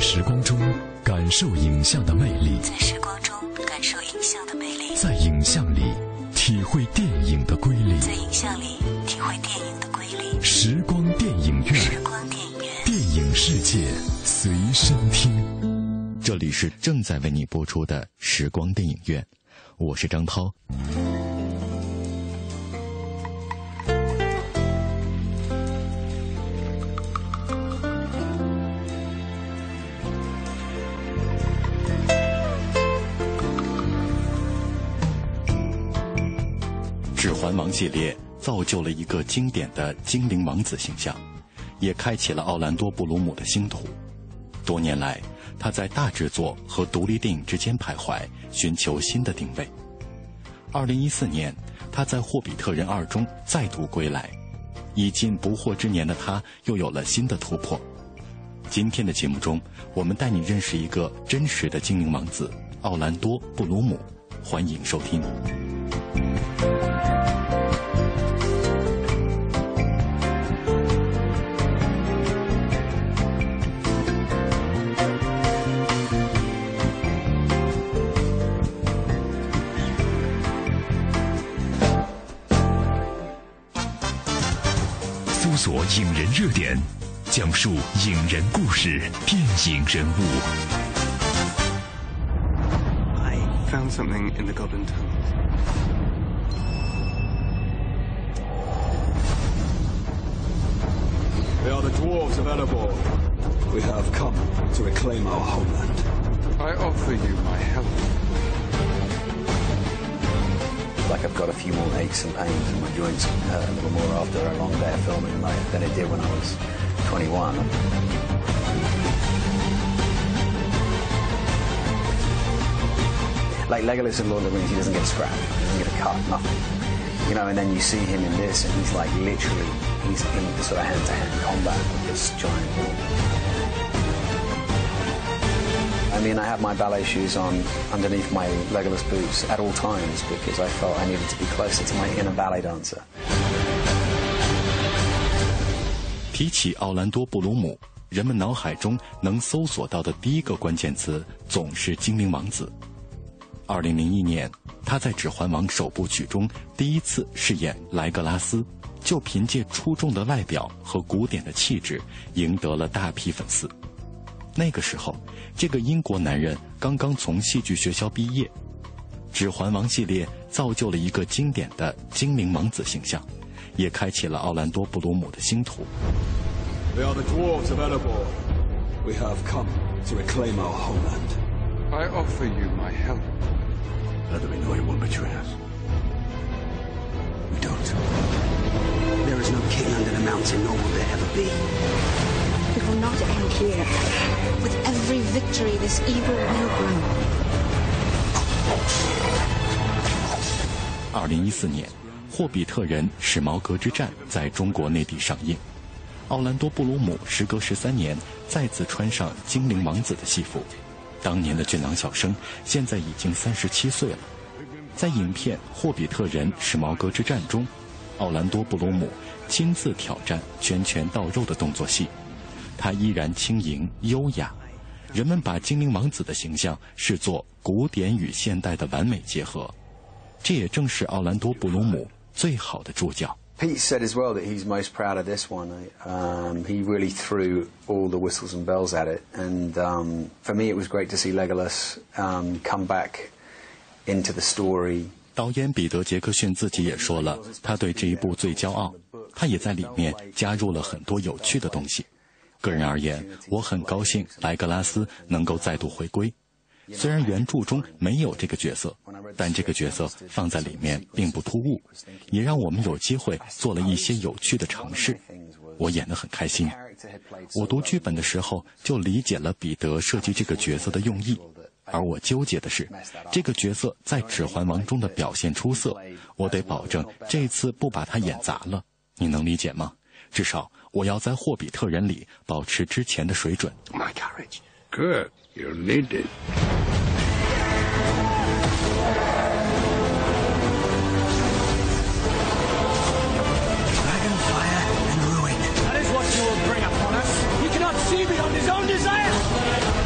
时光中感受影像的魅力， 在时光中感受影像的魅力， 在影像里体会电影的瑰丽， 在影像里体会电影的瑰丽。 时光电影院， 时光电影院， 电影世界随身听。 这里是正在为你播出的时光电影院，我是张涛。指环王系列造就了一个经典的精灵王子形象，也开启了奥兰多·布鲁姆的星途。多年来，他在大制作和独立电影之间徘徊，寻求新的定位。2014年，他在《霍比特人2》中再度归来，已近不惑之年的他又有了新的突破。今天的节目中，我们带你认识一个真实的精灵王子——奥兰多·布鲁姆。欢迎收听。 搜索影人热点，讲述影人故事，电影人物。 I found something in the Goblin Tunnels. They are the dwarves of Erebor. We have come to reclaim our homeland. I offer you my help. Like I've got a few more aches and pains and my joints can hurt a little more after a long day of filming than it did when I was 21. Like Legolas in Lord of the Rings, he doesn't get a scrap, he doesn't get a cut, nothing. You know, and then you see him in this and he's like literally, he's in sort of hand-to-hand combat with this giant wolf. I mean, I have my ballet shoes on underneath my Legolas boots at all times because I felt I needed to be closer to my inner ballet dancer. 提起奥兰多·布鲁姆，人们脑海中能搜索到的第一个关键词总是精灵王子。2001年，他在《指环王》首部曲中第一次饰演莱格拉斯，就凭借出众的外表和古典的气质，赢得了大批粉丝。那个时候，这个英国男人刚刚从戏剧学校毕业，《指环王》系列造就了一个经典的精灵王子形象，也开启了奥兰多·布鲁姆的星途。 They are the dwarves of Erebor. We have come to reclaim our homeland. I offer you my help. Now that we know you won't betray us. We don't. There is no king under the mountain, nor will there ever be. It will not end here. With every victory, this evil will grow. 2014年，《霍比特人：史矛革之战》在中国内地上映。奥兰多·布鲁姆时隔13年再次穿上精灵王子的戏服，当年的俊朗小生现在已经37岁了。在影片《霍比特人：史矛革之战》中，奥兰多·布鲁姆亲自挑战拳拳到肉的动作戏，他依然轻盈优雅。人们把精灵王子的形象视作古典与现代的完美结合，这也正是奥兰多·布鲁姆最好的助教。 Pete said as well that he's most proud of this one. He really threw all the whistles and bells at it. And for me, it was great to see Legolas come back into the story. 导演彼得·杰克逊自己也说了，他对这一部最骄傲，他也在里面加入了很多有趣的东西。个人而言，我很高兴莱格拉斯能够再度回归。虽然原著中没有这个角色，但这个角色放在里面并不突兀，也让我们有机会做了一些有趣的尝试。我演得很开心。我读剧本的时候就理解了彼得设计这个角色的用意，而我纠结的是，这个角色在《指环王》中的表现出色，我得保证这次不把他演砸了。你能理解吗？至少我要在《霍比特人》里保持之前的水准。 My courage. Good. You need it. Dragonfire and ruin. That is what you will bring upon us. He cannot see beyond his own desire.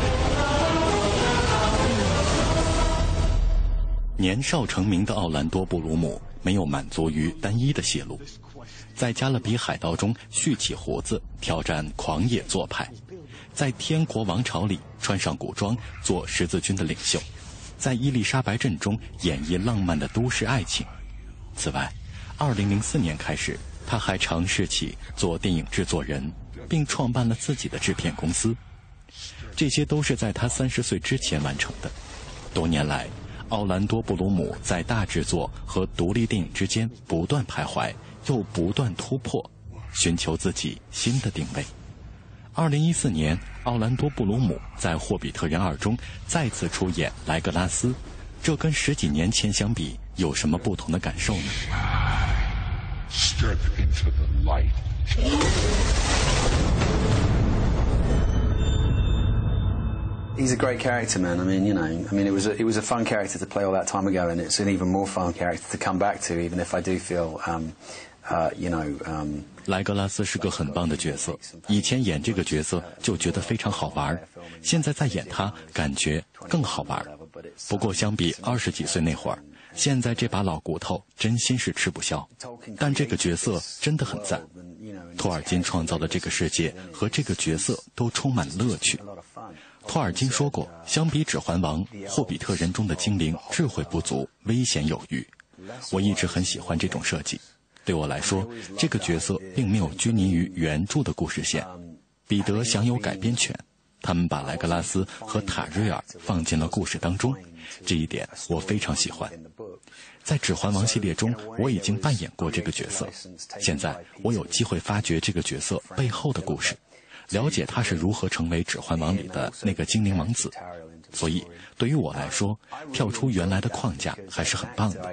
年少成名的奥兰多·布鲁姆没有满足于单一的戏路，在《加勒比海盗》中蓄起胡子，挑战狂野做派；在《天国王朝》里穿上古装，做十字军的领袖；在《伊丽莎白镇》中演绎浪漫的都市爱情。此外，2004年开始，他还尝试起做电影制作人，并创办了自己的制片公司。这些都是在他30岁之前完成的。多年来，奥兰多·布鲁姆在大制作和独立电影之间不断徘徊，又不断突破，寻求自己新的定位。2014年，奥兰多·布鲁姆在《霍比特人2》中再次出演莱格拉斯，这跟10几年前相比有什么不同的感受呢？ Step into the light. He's a great character, man. I mean, it was a fun character to play all that time ago, and it's an even more fun character to come back to, even if I do feel, 莱格拉斯是个很棒的角色，以前演这个角色就觉得非常好玩，现在再演他感觉更好玩。不过相比20几岁那会儿，现在这把老骨头真心是吃不消。但这个角色真的很赞，托尔金创造的这个世界和这个角色都充满乐趣。托尔金说过，相比《指环王》，《霍比特人》中的精灵智慧不足，危险有余。我一直很喜欢这种设计。对我来说，这个角色并没有拘泥于原著的故事线，彼得享有改编权。他们把莱格拉斯和塔瑞尔放进了故事当中，这一点我非常喜欢。在《指环王》系列中，我已经扮演过这个角色，现在我有机会发掘这个角色背后的故事，了解他是如何成为《指环王》里的那个精灵王子。所以对于我来说，跳出原来的框架还是很棒的。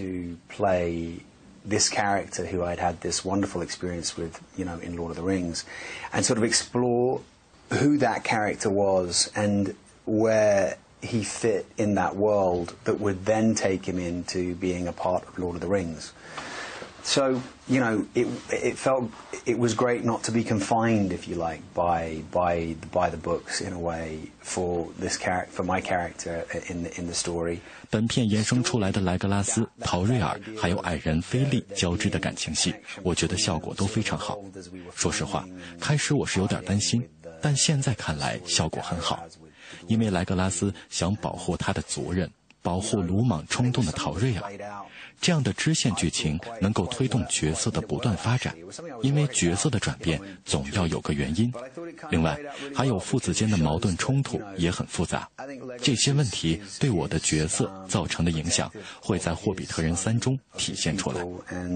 This character who I'd had this wonderful experience with, in Lord of the Rings, and sort of explore who that character was and where he fit in that world that would then take him into being a part of Lord of the Rings. So, it felt it was great not to be confined, if you like, by the books in a way for my character in the story. 本片衍生出来的莱格拉斯、陶瑞尔还有矮人菲利交织的感情戏，我觉得效果都非常好。说实话，开始我是有点担心，但现在看来效果很好，因为莱格拉斯想保护他的族人，保护鲁莽冲动的陶瑞尔。这样的支线剧情能够推动角色的不断发展，因为角色的转变总要有个原因。另外，还有父子间的矛盾冲突也很复杂。这些问题对我的角色造成的影响，会在《霍比特人3》中体现出来。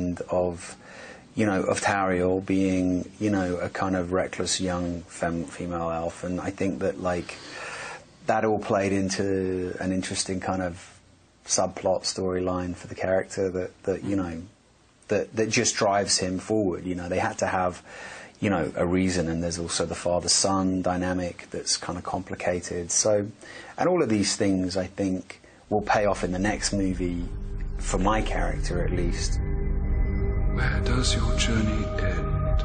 Of Tauriel being, a kind of reckless young female elf, and I think that that all played into an interesting kind of subplot storyline for the character that just drives him forward. They had to have, a reason, and there's also the father-son dynamic that's kind of complicated. So, and all of these things, I think, will pay off in the next movie, for my character at least. Where does your journey end?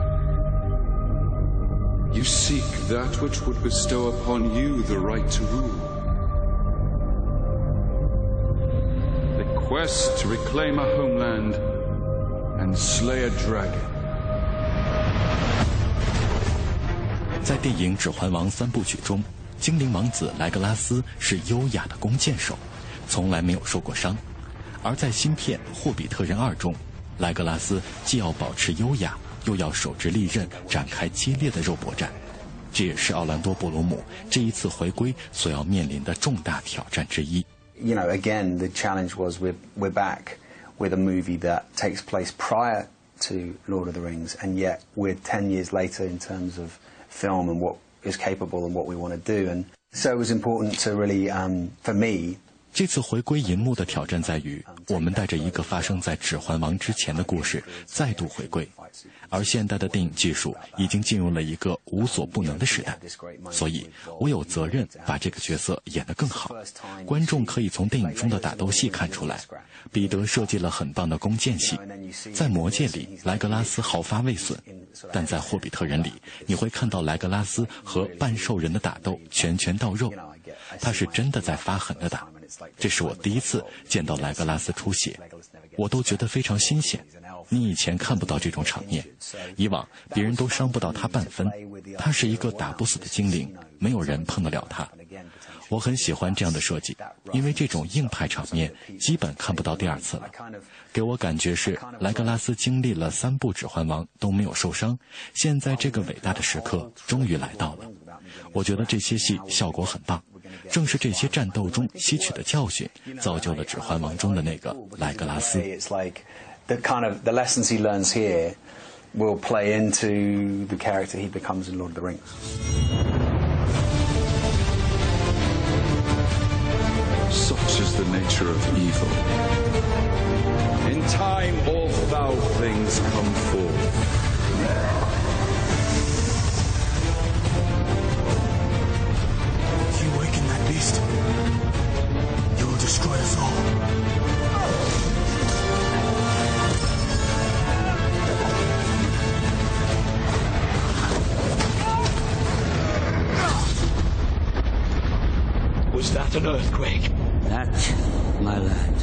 You seek that which would bestow upon you the right to rule. The quest to reclaim a homeland and slay a dragon. 在电影《指环王》3部曲中，精灵王子莱格拉斯是优雅的弓箭手，从来没有受过伤；而在新片《霍比特人2》中，莱格拉斯既要保持优雅，又要手执利刃展开激烈的肉搏战。这也是奥兰多·布鲁姆这一次回归所要面临的重大挑战之一。 Again, the challenge was we're back with a movie that takes place prior to Lord of the Rings, and yet we're 10 years later in terms of film and what is capable and what we want to do. And so it was important to really, for me, 这次回归银幕的挑战在于，我们带着一个发生在《指环王》之前的故事再度回归，而现代的电影技术已经进入了一个无所不能的时代，所以我有责任把这个角色演得更好。观众可以从电影中的打斗戏看出来，彼得设计了很棒的弓箭戏。在《魔戒》里，莱格拉斯毫发未损，但在《霍比特人》里，你会看到莱格拉斯和半兽人的打斗拳拳到肉，他是真的在发狠的打。 这是我第一次见到莱格拉斯出血，我都觉得非常新鲜。你以前看不到这种场面，以往别人都伤不到他半分，他是一个打不死的精灵，没有人碰得了他。我很喜欢这样的设计，因为这种硬派场面基本看不到第二次了。给我感觉是莱格拉斯经历了3部指环王都没有受伤，现在这个伟大的时刻终于来到了。我觉得这些戏效果很棒，正是这些战斗中吸取的教训，造就了指环王中的那个莱格拉斯。 The lessons he learns here will play into the character he becomes in Lord of the Rings. Such is the nature of evil. In time all foul things come forth. If you awaken that beast, you will destroy us all. Was that an earthquake? That, my lad.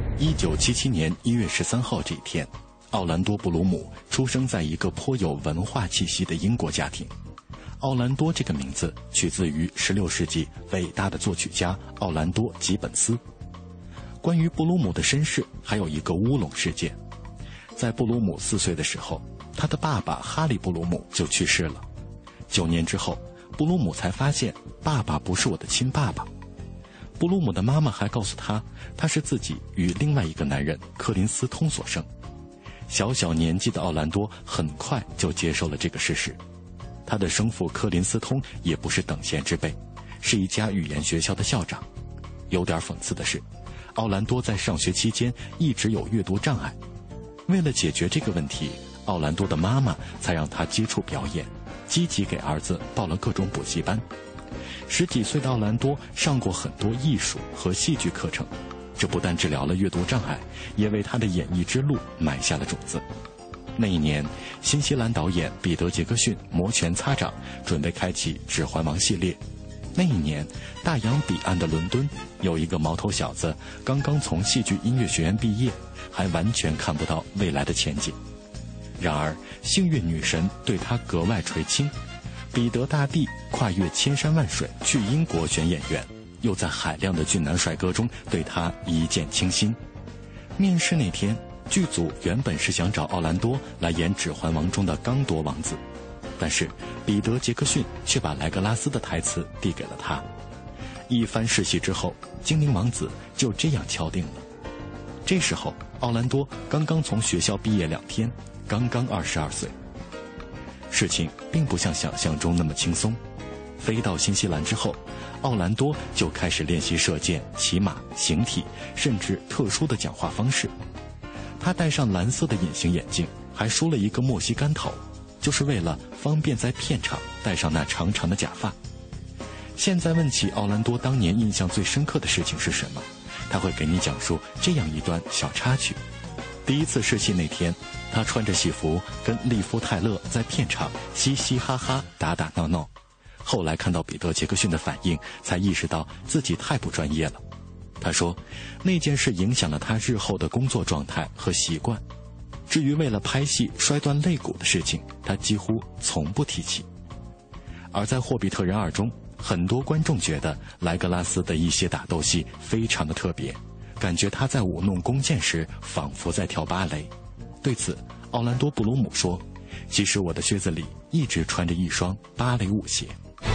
1977年1月13号这一天，奥兰多·布鲁姆出生在一个颇有文化气息的英国家庭。奥兰多这个名字取自于16世纪伟大的作曲家奥兰多·吉本斯。关于布鲁姆的身世还有一个乌龙事件。在布鲁姆4岁的时候，他的爸爸哈利·布鲁姆就去世了。9年之后，布鲁姆才发现爸爸不是我的亲爸爸。布鲁姆的妈妈还告诉他，他是自己与另外一个男人柯林斯通所生。小小年纪的奥兰多很快就接受了这个事实。他的生父柯林斯通也不是等闲之辈，是一家语言学校的校长。有点讽刺的是，奥兰多在上学期间一直有阅读障碍。为了解决这个问题，奥兰多的妈妈才让他接触表演，积极给儿子报了各种补习班。10几岁的奥兰多上过很多艺术和戏剧课程，这不但治疗了阅读障碍，也为他的演艺之路埋下了种子。那一年，新西兰导演彼得·杰克逊摩拳擦掌，准备开启《指环王》系列。那一年，大洋彼岸的伦敦有一个毛头小子，刚刚从戏剧音乐学院毕业，还完全看不到未来的前景。然而，幸运女神对他格外垂青。彼得大帝跨越千山万水去英国选演员，又在海量的俊男帅哥中对他一见倾心。面试那天，剧组原本是想找奥兰多来演《指环王》中的刚铎王子，但是彼得·杰克逊却把莱格拉斯的台词递给了他。一番试戏之后，精灵王子就这样敲定了。这时候，奥兰多刚刚从学校毕业2天，刚刚22岁。事情并不像想象中那么轻松。飞到新西兰之后，奥兰多就开始练习射箭、骑马、形体，甚至特殊的讲话方式。他戴上蓝色的隐形眼镜，还梳了一个墨西干头，就是为了方便在片场戴上那长长的假发。现在问起奥兰多当年印象最深刻的事情是什么，他会给你讲述这样一段小插曲。第一次试戏那天，他穿着戏服跟利夫泰勒在片场嘻嘻哈哈打打闹闹。后来看到彼得·杰克逊的反应，才意识到自己太不专业了。他说，那件事影响了他日后的工作状态和习惯。至于为了拍戏摔断肋骨的事情，他几乎从不提起。而在《霍比特人2》中，很多观众觉得莱格拉斯的一些打斗戏非常的特别，感觉他在舞弄弓箭时仿佛在跳芭蕾。对此，奥兰多·布鲁姆说，其实我的靴子里一直穿着一双芭蕾舞鞋。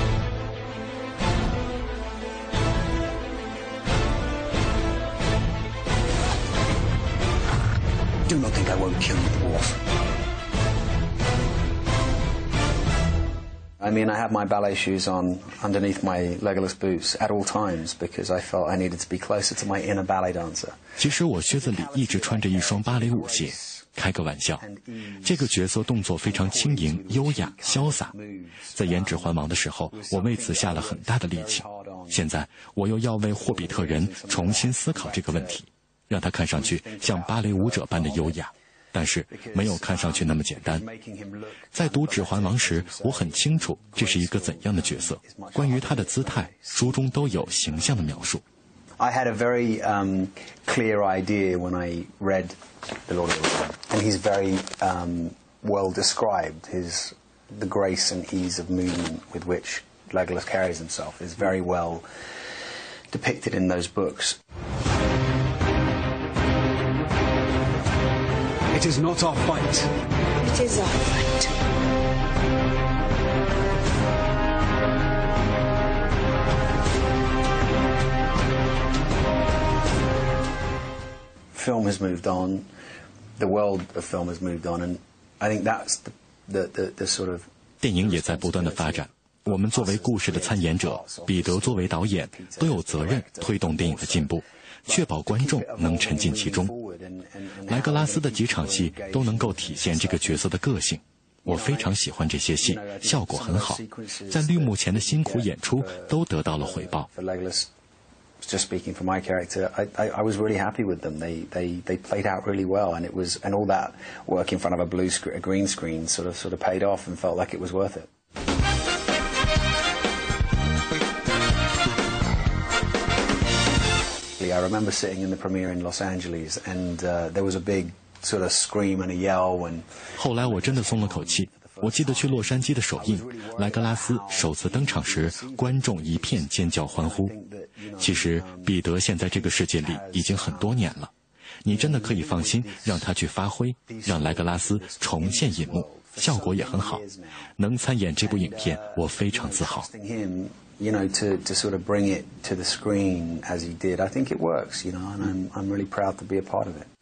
Do not think I won't kill you, dwarf. I mean, I had my ballet shoes on underneath my Legolas boots at all times because I felt I needed to be closer to my inner ballet dancer. 其实我靴子里一直穿着一双芭蕾舞鞋。开个玩笑，这个角色动作非常轻盈、优雅、潇洒。在演《指环王》的时候，我为此下了很大的力气。现在我又要为霍比特人重新思考这个问题，让他看上去像芭蕾舞者般的优雅，但是没有看上去那么简单。在读《指环王》时，我很清楚这是一个怎样的角色，关于他的姿态，书中都有形象的描述。 I had a very clear idea when I read The Lord of the Rings, and he's very well described. The grace and ease of movement with which Legolas carries himself is very well depicted in those books. It is not our fight. It is our fight. Film has moved on, the world of film has moved on, and I think that's the sort of 电影也在不断的发展。我们作为故事的参演者，彼得作为导演，都有责任推动电影的进步，确保观众能沉浸其中。莱格拉斯的几场戏都能够体现这个角色的个性，我非常喜欢这些戏，效果很好，在绿幕前的辛苦演出都得到了回报。 Just speaking for my character, I was really happy with them. They played out really well, and all that work in front of a green screen sort of paid off and felt like it was worth it. I remember sitting in the premiere in Los Angeles, and there was a big sort of scream and a yell when. 后来我真的松了口气。我记得去洛杉矶的首映，莱格拉斯首次登场时，观众一片尖叫欢呼。其实彼得现在这个世界里已经很多年了，你真的可以放心让他去发挥，让莱格拉斯重现银幕，效果也很好。能参演这部影片，我非常自豪。 You know, to sort of bring it to the screen as he did, I think it works. You know, and I'm really proud to be a part of it.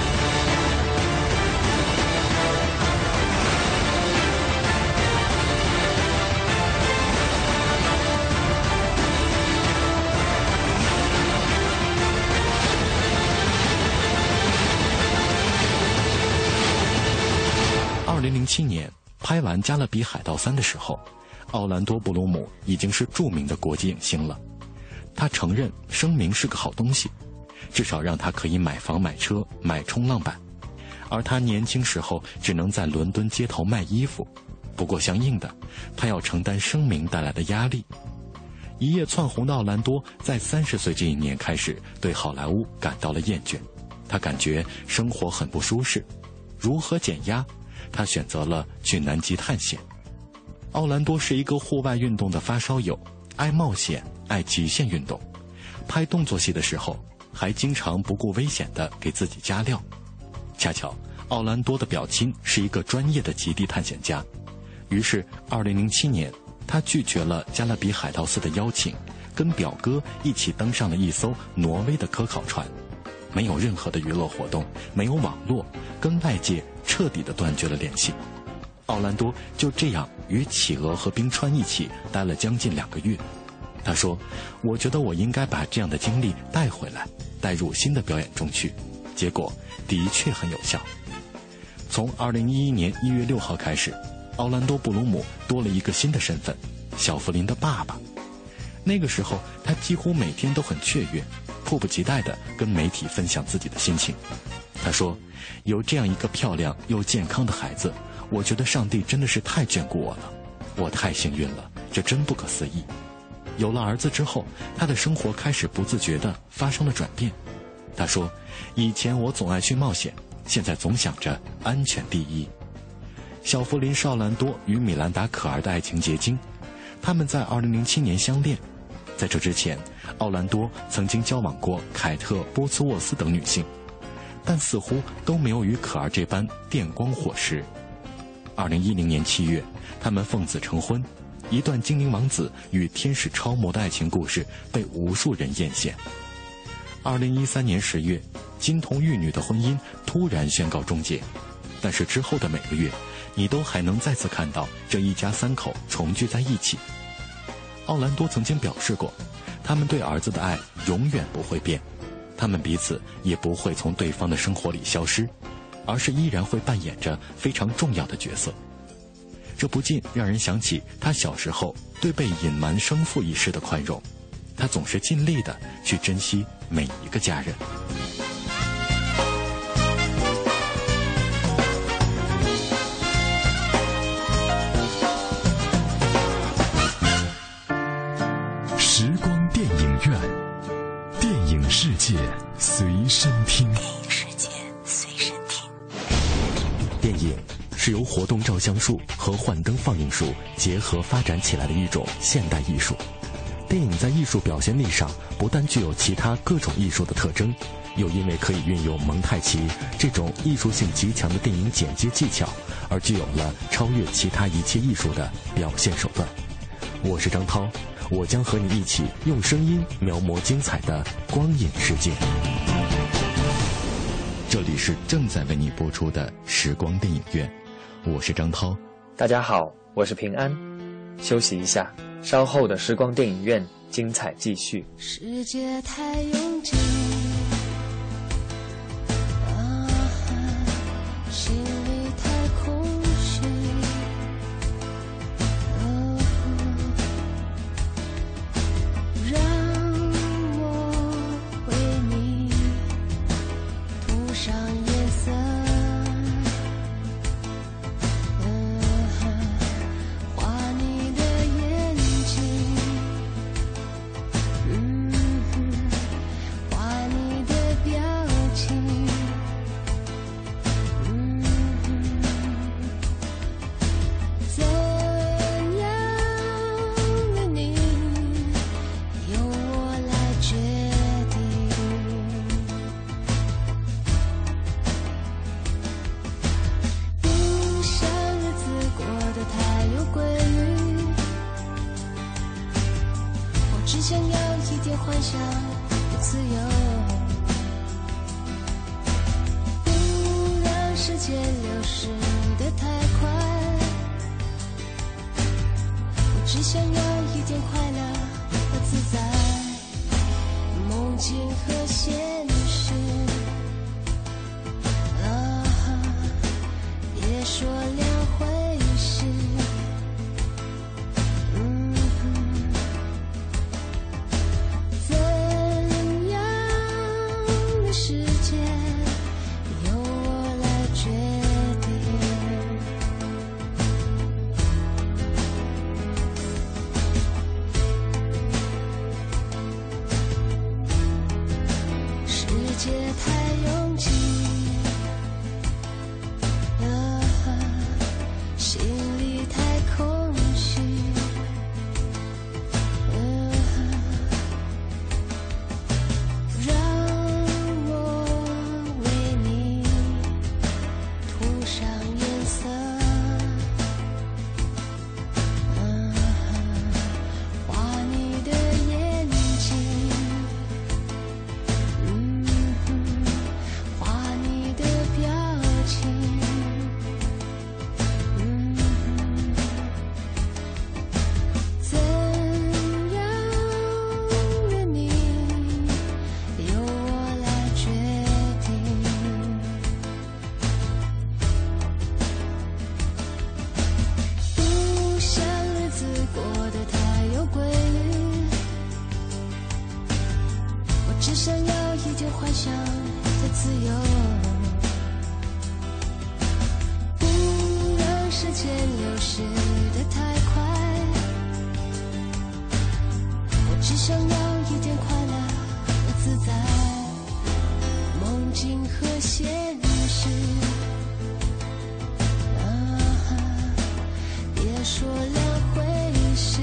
2007年拍完《加勒比海盗3》的时候，奥兰多·布鲁姆已经是著名的国际影星了。他承认声名是个好东西，至少让他可以买房买车买冲浪板，而他年轻时候只能在伦敦街头卖衣服。不过相应的，他要承担声名带来的压力。一夜窜红的奥兰多在30岁这一年开始对好莱坞感到了厌倦，他感觉生活很不舒适。如何减压？他选择了去南极探险。奥兰多是一个户外运动的发烧友，爱冒险，爱极限运动。拍动作戏的时候，还经常不顾危险地给自己加料。恰巧，奥兰多的表亲是一个专业的极地探险家，于是2007年，他拒绝了《加勒比海盗4》的邀请，跟表哥一起登上了一艘挪威的科考船。没有任何的娱乐活动，没有网络，跟外界彻底地断绝了联系。奥兰多就这样与企鹅和冰川一起待了将近2个月。他说：“我觉得我应该把这样的经历带回来，带入新的表演中去。”结果的确很有效。从2011年1月6号开始，奥兰多·布鲁姆多了一个新的身份——小弗林的爸爸。那个时候，他几乎每天都很雀跃，迫不及待地跟媒体分享自己的心情。他说：“有这样一个漂亮又健康的孩子，我觉得上帝真的是太眷顾我了，我太幸运了，这真不可思议。”有了儿子之后，他的生活开始不自觉地发生了转变。他说：“以前我总爱去冒险，现在总想着安全第一。”小弗林·绍兰多与米兰达·可儿的爱情结晶，他们在2007年相恋。在这之前，奥兰多曾经交往过凯特·波茨沃斯等女性，但似乎都没有与可儿这般电光火石。2010年7月，他们奉子成婚，一段精灵王子与天使超模的爱情故事被无数人艳羡。2013年10月，金童玉女的婚姻突然宣告终结，但是之后的每个月，你都还能再次看到这一家3口重聚在一起。奥兰多曾经表示过，他们对儿子的爱永远不会变，他们彼此也不会从对方的生活里消失，而是依然会扮演着非常重要的角色。这不禁让人想起他小时候对被隐瞒生父一事的宽容，他总是尽力地去珍惜每一个家人。 时光电影院，电影随身听。 电影世界随身听。 电影是由活动照相术和幻灯放映术结合发展起来的一种现代艺术。电影在艺术表现力上不但具有其他各种艺术的特征，又因为可以运用蒙太奇这种艺术性极强的电影剪接技巧，而具有了超越其他一切艺术的表现手段。我是张涛，我将和你一起用声音描摹精彩的光影世界。这里是正在为你播出的时光电影院，我是张涛。 大家好，我是平安。休息一下，稍后的时光电影院精彩继续。 世界太拥挤，心里太空虚，让我为你涂上颜色，画你的眼睛，画你的表情，怎样的你由我来决定。不想日子过得太有规律，我只想要一点幻想的自由，不让时间流逝得太快，我只想要一点快乐和自在，梦境和现实，别说两回事。怎样的世界由我来决定。世界太拥挤，心里太空虚，让我为你涂上颜色，画你的眼睛，画你的表情，怎样的你由我来决定。不想日子过得太有规律，我只想要一点幻想的自由，不让时间流逝得太快，我只想要一点快乐和自在，梦境和现实，别说两回事。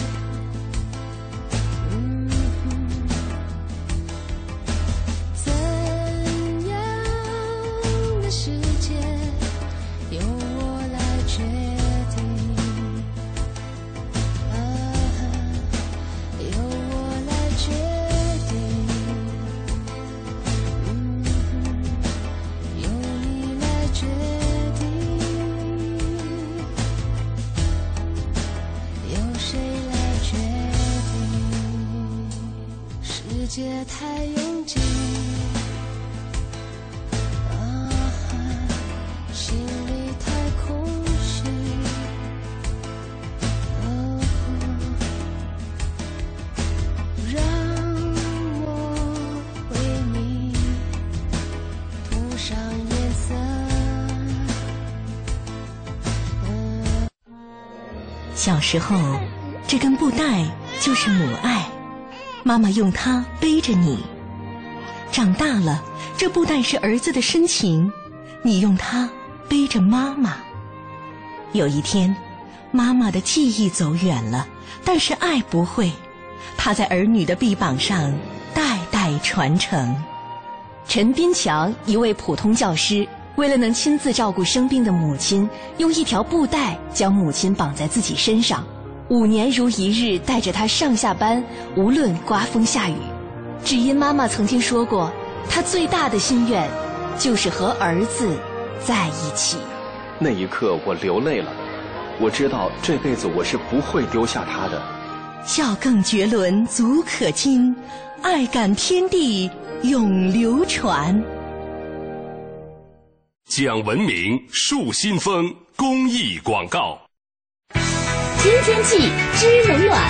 怎样的世界由我来决定，由我来决定，由你来决定，由谁来决定。世界太拥挤，心里太空虚，让我为你涂上颜色。 小时候，这根布带就是母爱，妈妈用它背着你。 长大了，这不但是儿子的深情，你用它背着妈妈。有一天，妈妈的记忆走远了，但是爱不会，它在儿女的臂膀上代代传承。 陈斌强，一位普通教师，为了能亲自照顾生病的母亲，用一条布带将母亲绑在自己身上，5年如一日带着她上下班，无论刮风下雨。只因妈妈曾经说过，她最大的心愿就是和儿子在一起。 那一刻我流泪了，我知道这辈子我是不会丢下他的。 笑更绝伦足可亲，爱感天地永流传。 讲文明树新风公益广告。 知天气知冷暖。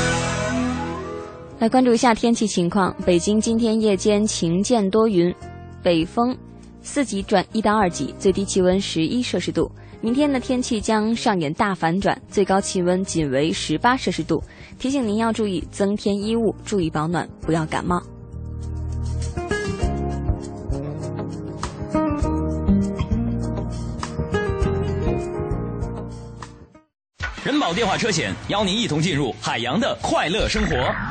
来关注一下天气情况。北京今天夜间晴间多云，北风4级转1到2级，最低气温11摄氏度。明天的天气将上演大反转，最高气温仅为18摄氏度。提醒您要注意增添衣物，注意保暖，不要感冒。 人保电话车险邀您一同进入海洋的快乐生活。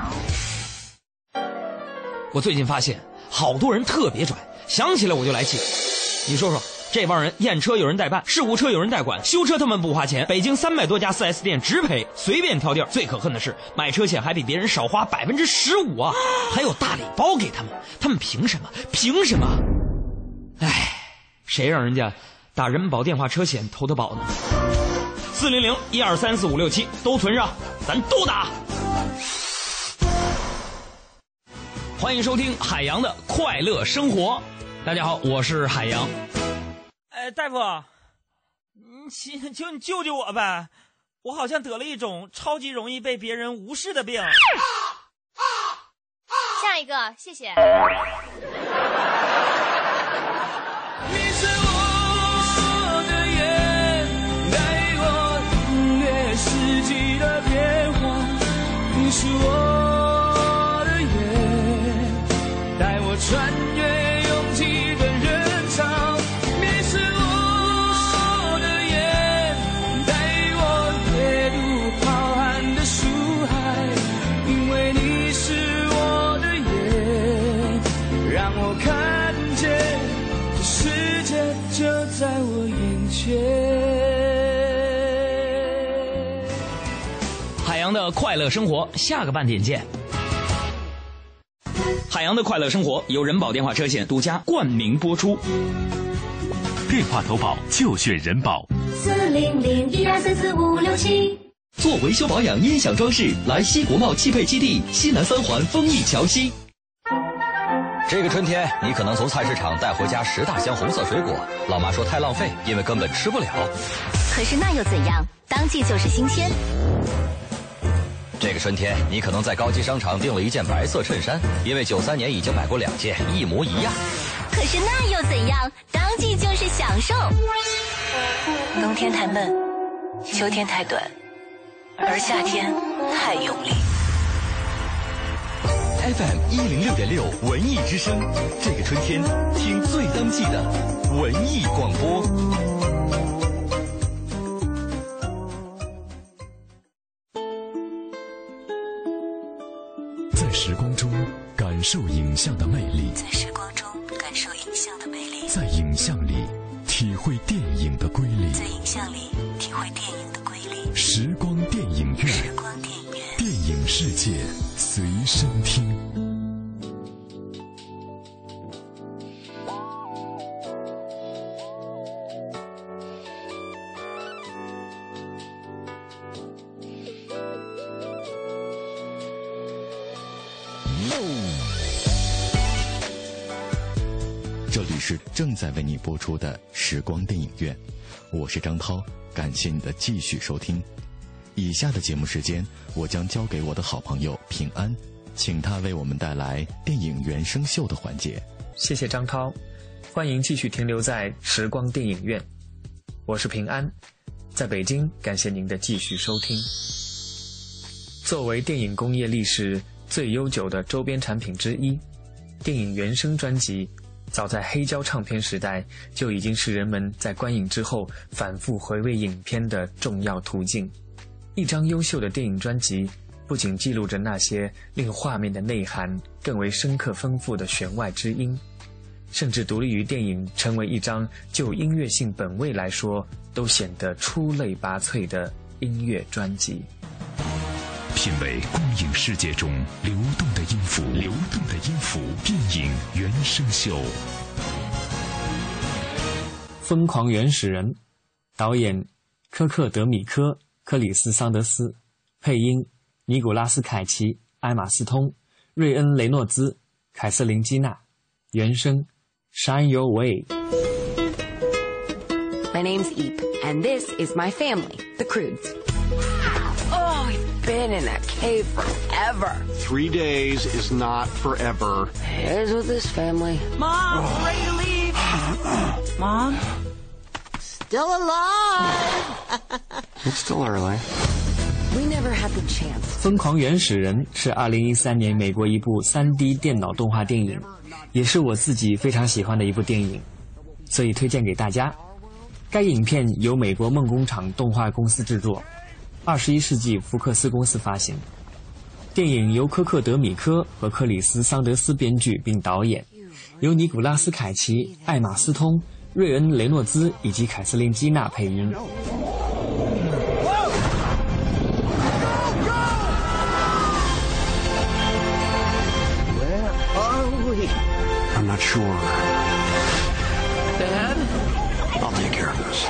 我最近发现好多人特别拽，想起来我就来气。你说说，这帮人验车有人代办，事故车有人代管，修车他们不花钱，北京300多家 4S 店直赔，随便挑地儿。最可恨的是买车险还比别人少花15%啊，还有大礼包给他们，他们凭什么？凭什么？哎，谁让人家打人保电话车险投的保呢？400-1234567都存上，咱都打。 欢迎收听海洋的快乐生活。大家好，我是海洋。 大夫，你救救我呗！我好像得了一种超级容易被别人无视的病。 下一个，谢谢。 你是我的眼，带我领略四季的变化。你是我的眼，带我穿越拥挤的人潮。你是我的眼，带我阅读浩瀚的书海。因为你是我的眼，让我看见这世界就在我眼前。 海洋的快乐生活，下个半点见。海洋的快乐生活由人保电话车险独家冠名播出。 电话投保就选人保。 400-1234567。 做维修保养、音响装饰，来西国贸汽配基地西南3环丰益桥西。 这个春天，你可能从菜市场带回家10大箱红色水果，老妈说太浪费，因为根本吃不了。 可是那又怎样？当季就是新鲜。 这个春天，你可能在高级商场订了一件白色衬衫，因为93年已经买过2件，一模一样。 可是那又怎样？当季就是享受。 冬天太闷，秋天太短，而夏天太用力。 FM 106.6文艺之声，这个春天听最当季的文艺广播。 在时光中感受影像的魅力， 在时光中感受影像的魅力， 在影像里体会电影的瑰丽， 在影像里体会电影的瑰丽。 时光电影院， 时光电影院， 电影世界随身听。 这里是正在为你播出的时光电影院，我是张涛，感谢你的继续收听。以下的节目时间，我将交给我的好朋友平安，请他为我们带来电影原声秀的环节。 谢谢张涛，欢迎继续停留在时光电影院，我是平安，在北京，感谢您的继续收听。作为电影工业历史最悠久的周边产品之一， 电影原声专辑早在黑胶唱片时代就已经是人们在观影之后反复回味影片的重要途径。一张优秀的电影专辑不仅记录着那些令画面的内涵更为深刻丰富的弦外之音，甚至独立于电影成为一张就音乐性本位来说都显得出类拔萃的音乐专辑。 品味光影世界中流动的音符，电影原声秀。 疯狂原始人，导演科克·德米科、克里斯·桑德斯，配音尼古拉斯·凯奇、艾玛斯通、瑞恩·雷诺兹、凯瑟琳·基娜，原声 Shine Your Way。 My name's Eep, and this is my family, the Croods. Oh, we've been in that cave forever. 3 days is not forever. It is with this family. Mom, we're ready to leave. Mom? Still alive. It's still early. We never had the chance. 疯狂原始人是2013年美国一部 3D 电脑动画电影，也是我自己非常喜欢的一部电影，所以推荐给大家。该影片由美国梦工厂动画公司制作，21世纪福克斯公司发行。电影由科克·德米科和克里斯·桑德斯编剧并导演，由尼古拉斯·凯奇、艾玛斯通、瑞恩·雷诺兹以及凯瑟琳·基娜配音。 I'm not sure. Dad? I'll take care of this.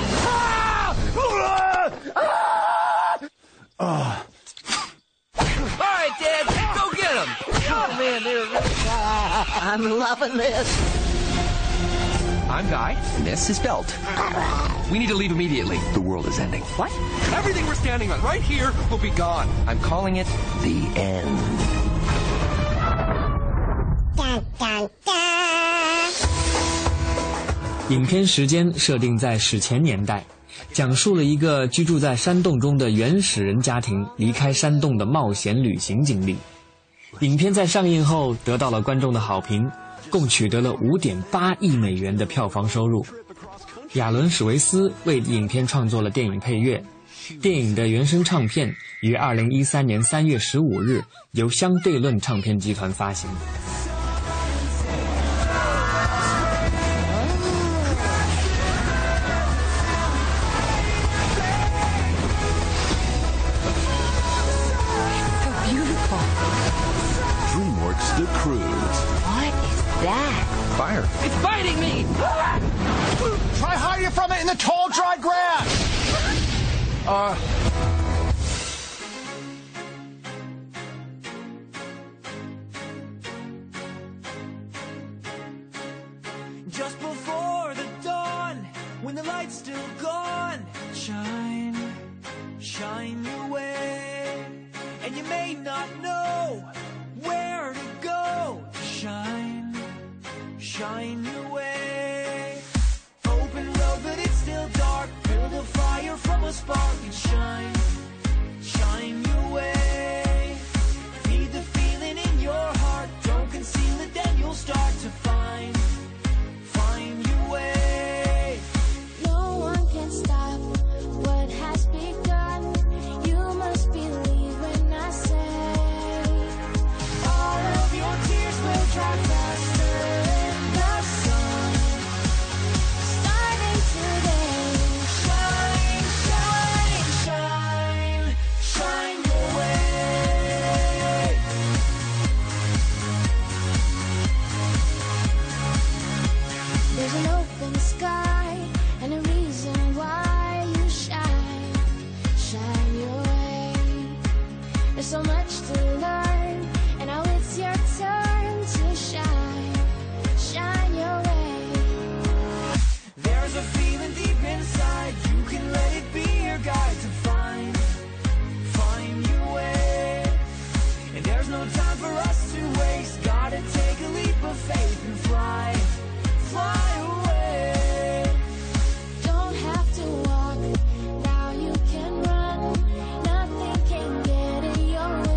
All right, Dad, go get him. Oh, man, they're really... I'm loving this. I'm Guy, and this is Belt. We need to leave immediately. The world is ending. What? Everything we're standing on right here will be gone. I'm calling it the end. 影片时间设定在史前年代，讲述了一个居住在山洞中的原始人家庭离开山洞的冒险旅行经历。影片在上映后得到了观众的好评，共取得了5.8亿美元的票房收入。亚伦·史维斯为影片创作了电影配乐，电影的原声唱片于2013年3月15日由相对论唱片集团发行。 DreamWorks The Croods. What is that? Fire. It's biting me! Try hiding from it in the tall, dry grass! Just before the dawn, when the light's still gone, shine, shine your way. And you may not know where to go. Shine, shine your way. Open road, but it's still dark. Build a fire from a spark and shine, shine your way. Feed the feeling in your heart. Don't conceal it, then you'll start to find your way. No one can stop what has begun. You must believe when I say all of your tears will dry faster in the sun. Starting today, shine, shine, shine, shine your way. there's an open sky and a reason why you shine, shine your way. There's so much to learn, and now it's your turn to shine, shine your way. There's a feeling deep inside. You can let it be your guide to find your way. And there's no time for us to waste. Gotta take a leap of faith and fly away. Don't have to walk, now you can run. Nothing can get in your way.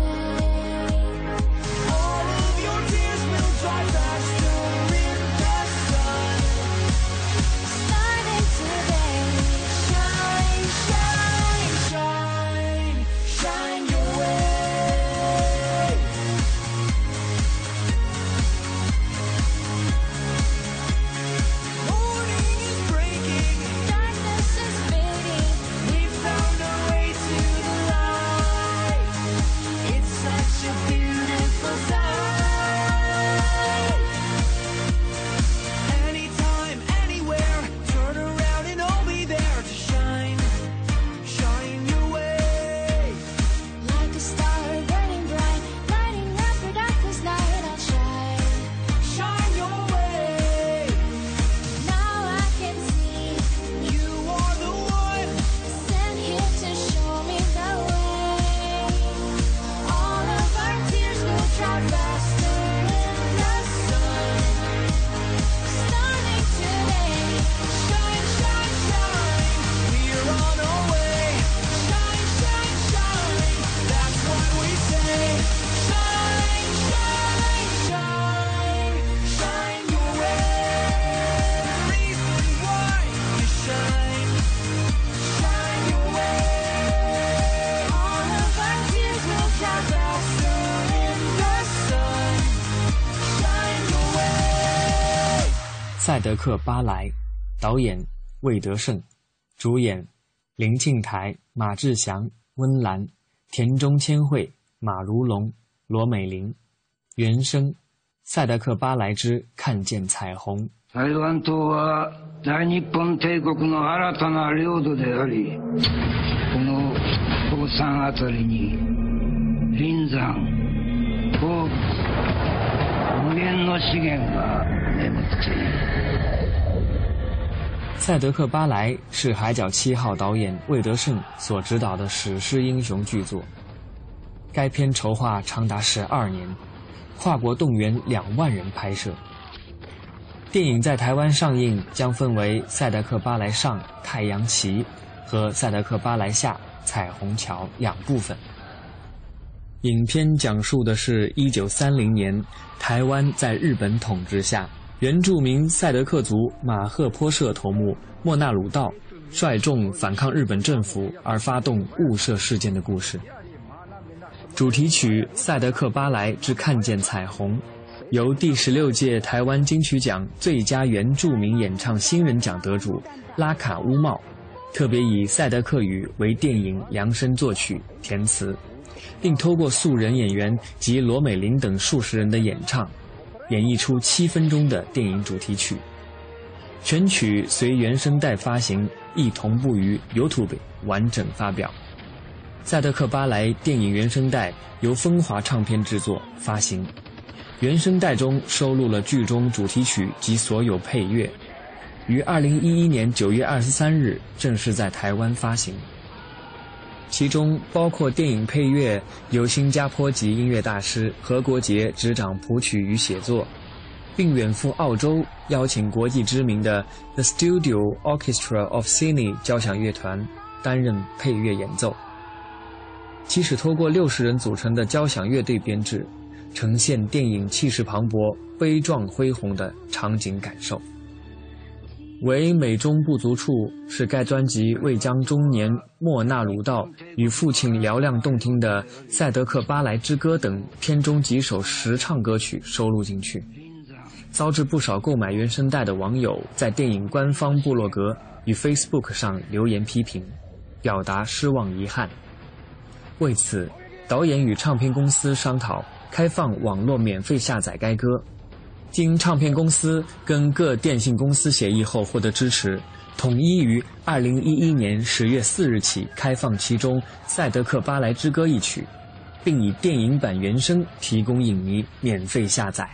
赛德克·巴莱，导演魏德胜，主演林庆台、马志祥、温岚、田中千惠、马如龙、罗美玲。原声赛德克·巴莱之看見彩虹。 台湾島は大日本帝国の新たな領土であり、この高山あたりに林山、鉱物、無限の資源が眠っている。 赛德克·巴莱是海角7号导演魏德胜所执导的史诗英雄巨作，该片筹划长达12年，跨国动员2万人拍摄。电影在台湾上映将分为赛德克·巴莱上太阳旗和赛德克·巴莱下彩虹桥2部分。影片讲述的是1930年台湾在日本统治下，原住民赛德克族马赫坡社头目莫纳鲁道率众反抗日本政府而发动雾社事件的故事。主题曲《赛德克·巴莱之看见彩虹》由第16届台湾金曲奖最佳原住民演唱新人奖得主拉卡乌茂特别以赛德克语为电影量身作曲填词，并透过素人演员及罗美玲等数十人的演唱，演绎出7分钟的电影主题曲。全曲随原声带发行，亦同步于 YouTube 完整发表。赛德克·巴莱电影原声带由风华唱片制作发行，原声带中收录了剧中主题曲及所有配乐，于2011年9月23日正式在台湾发行。其中包括电影配乐由新加坡籍音乐大师何国杰执掌谱曲与写作，并远赴澳洲邀请国际知名的 The Studio Orchestra of Sydney 交响乐团担任配乐演奏。其使透过60人组成的交响乐队编制，呈现电影气势磅礴、悲壮恢宏的场景感受。为美中不足处是该专辑未将中年莫纳鲁道与父亲嘹亮动听的《赛德克·巴莱之歌》等片中几首实唱歌曲收录进去，遭致不少购买原声带的网友在电影官方部落格与 Facebook 上留言批评，表达失望遗憾。为此，导演与唱片公司商讨开放网络免费下载该歌，经唱片公司跟各电信公司协议后获得支持，统一于2011年10月4日起开放其中《赛德克·巴莱之歌》一曲，并以电影版原声提供影迷免费下载。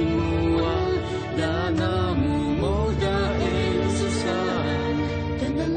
等等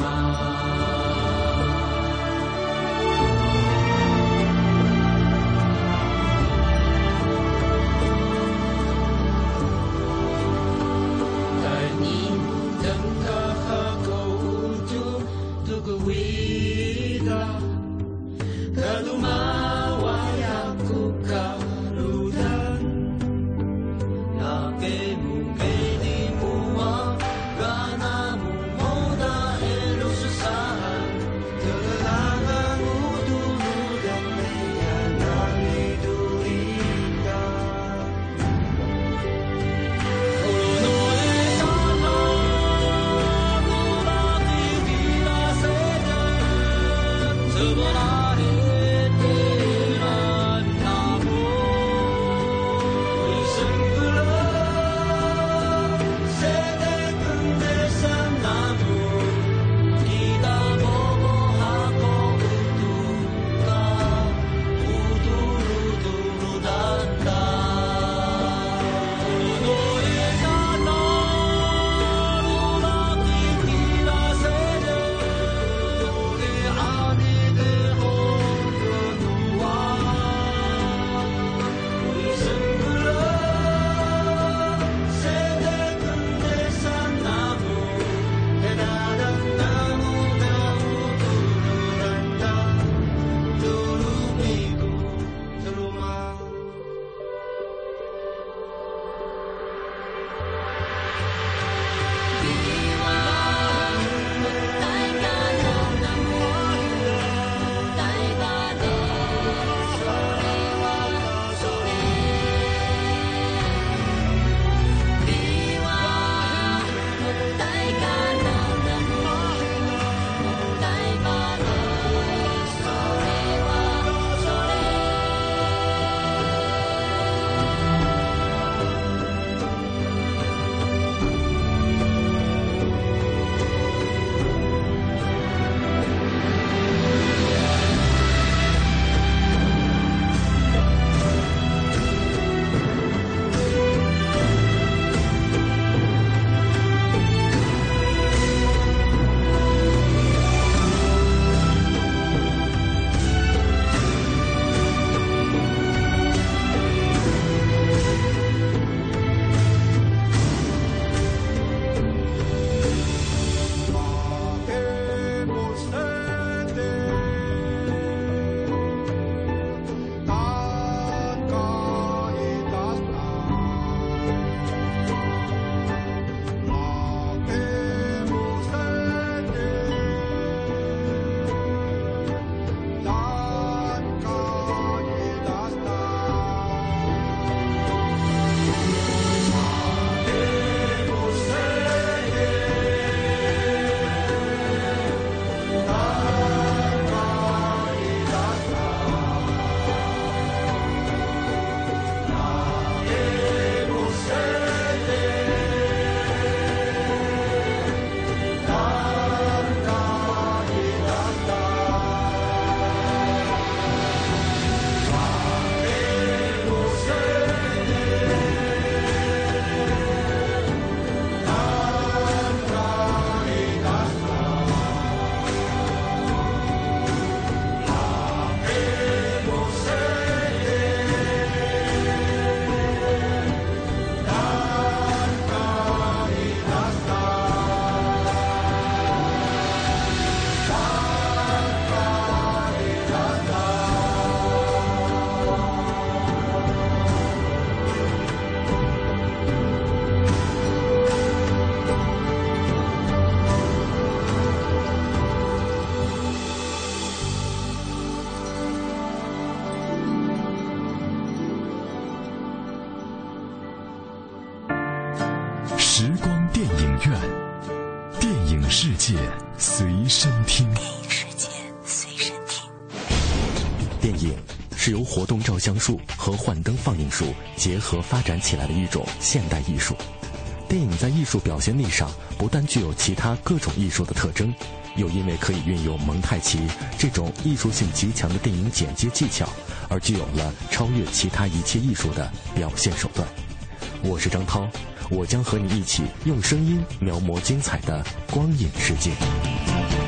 时光电影院，电影世界随身听。 电影世界随身听。 电影是由活动照相术和幻灯放映术结合发展起来的一种现代艺术。电影在艺术表现力上不但具有其他各种艺术的特征，又因为可以运用蒙太奇这种艺术性极强的电影剪接技巧，而具有了超越其他一切艺术的表现手段。我是张涛，我将和你一起用声音描摹精彩的光影世界。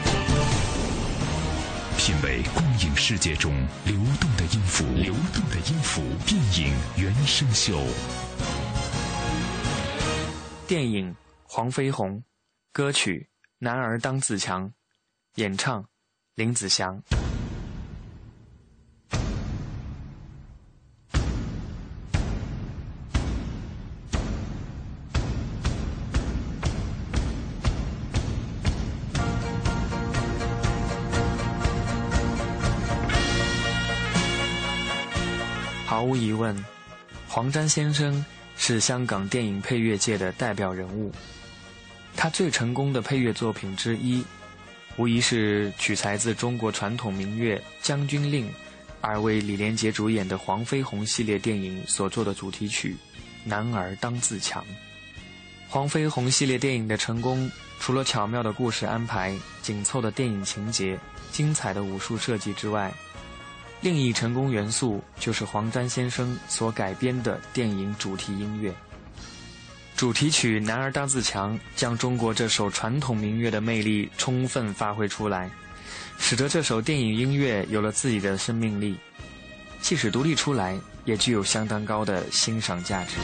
品味光影世界中流动的音符，电影原声秀。 电影《黄飞鸿》，歌曲《男儿当自强》，演唱林子祥。毫无疑问，黄沾先生是香港电影配乐界的代表人物。他最成功的配乐作品之一，无疑是取材自中国传统民乐《将军令》，而为李连杰主演的《黄飞鸿》系列电影所做的主题曲《男儿当自强》。黄飞鸿系列电影的成功，除了巧妙的故事安排、紧凑的电影情节、精彩的武术设计之外，另一成功元素就是黄沾先生所改编的电影主题音乐。主题曲《男儿当自强》将中国这首传统民乐的魅力充分发挥出来，使得这首电影音乐有了自己的生命力，即使独立出来，也具有相当高的欣赏价值。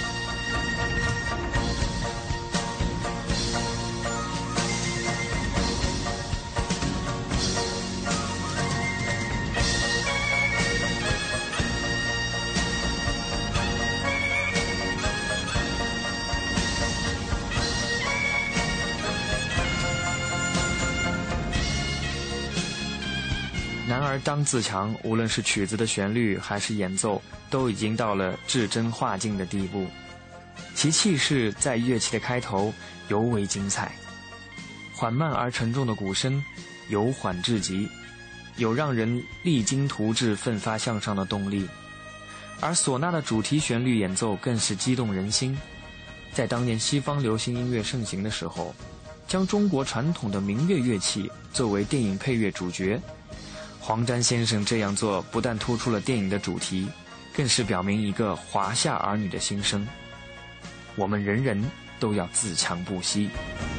男儿当自强，无论是曲子的旋律还是演奏，都已经到了至真化境的地步。其气势在乐器的开头尤为精彩，缓慢而沉重的鼓声由缓至急，有让人励精图治、奋发向上的动力。而唢呐的主题旋律演奏更是激动人心。在当年西方流行音乐盛行的时候，将中国传统的民乐乐器作为电影配乐主角，黄沾先生这样做不但突出了电影的主题，更是表明一个华夏儿女的心声：我们人人都要自强不息。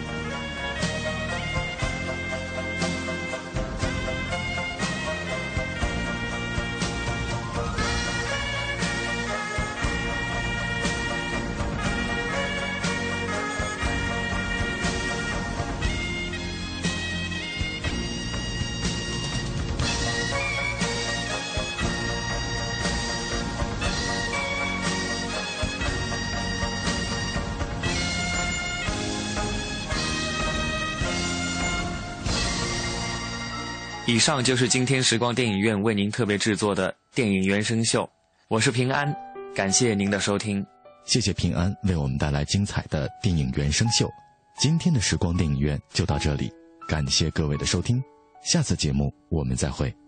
以上就是今天时光电影院为您特别制作的电影原声秀，我是平安，感谢您的收听。 谢谢平安为我们带来精彩的电影原声秀。今天的时光电影院就到这里，感谢各位的收听，下次节目我们再会。